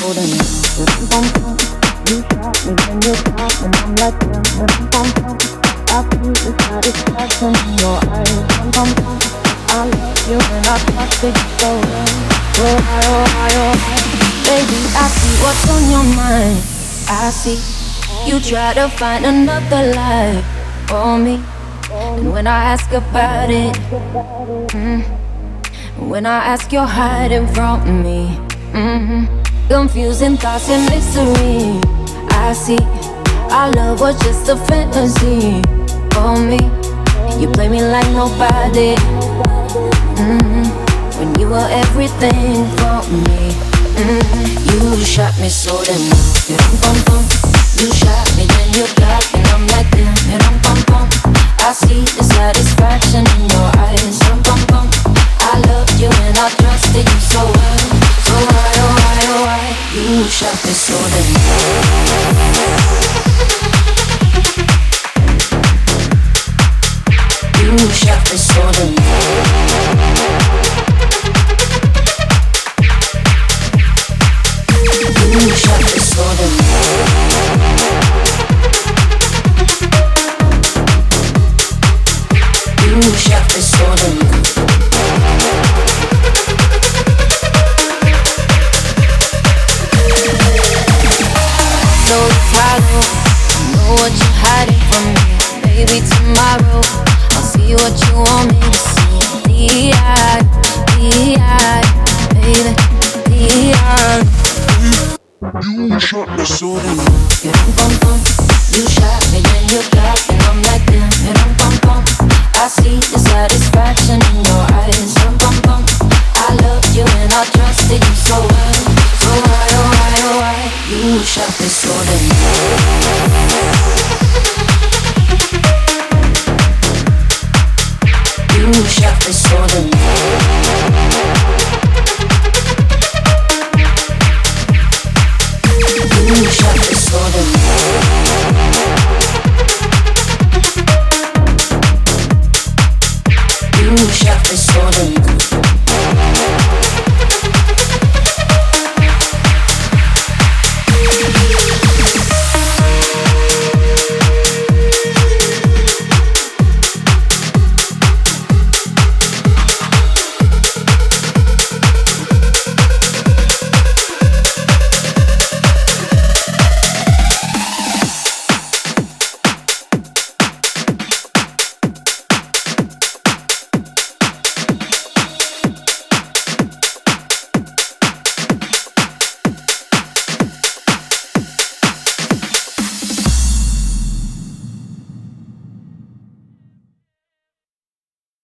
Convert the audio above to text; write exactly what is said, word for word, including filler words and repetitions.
then bum bum. You shot me, then you stop, and I'm like damn, bum bum. I feel the satisfaction in your eyes, bum bum bum. I love you and I trust that you so well. Oh hi, oh hi, oh hi. Baby, I see what's on your mind. I see you try to find another life for me. And when I ask about it, mm, when I ask you're hiding from me, mm-hmm. Confusing thoughts and mystery. I see our love was just a fantasy for me. You play me like nobody, mm-hmm. When you were everything for me, mm-hmm. You shot me so damn well. You shot me, then you got me, and I'm like damn, and I'm bum bum. I see the satisfaction in your eyes, bum bum bum. I loved you and I trusted you so well. So why, oh why, oh why? You shot me so damn well. You shot me so damn well. You shot me so damn well. You shot me so damn well. Know the problem, know what you're hiding from me. Maybe tomorrow I'll see what you want me to see. D-I, D-I, baby, D-I. You shot me so damn well. You shot me, then you got me, and I'm like damn, and I'm bum bum. I see the satisfaction in your eyes, bum bum bum. I loved you and I trusted you so well. So why, oh why, oh why? You shot me so damn well. You shot me so damn well. You shot me so damn well.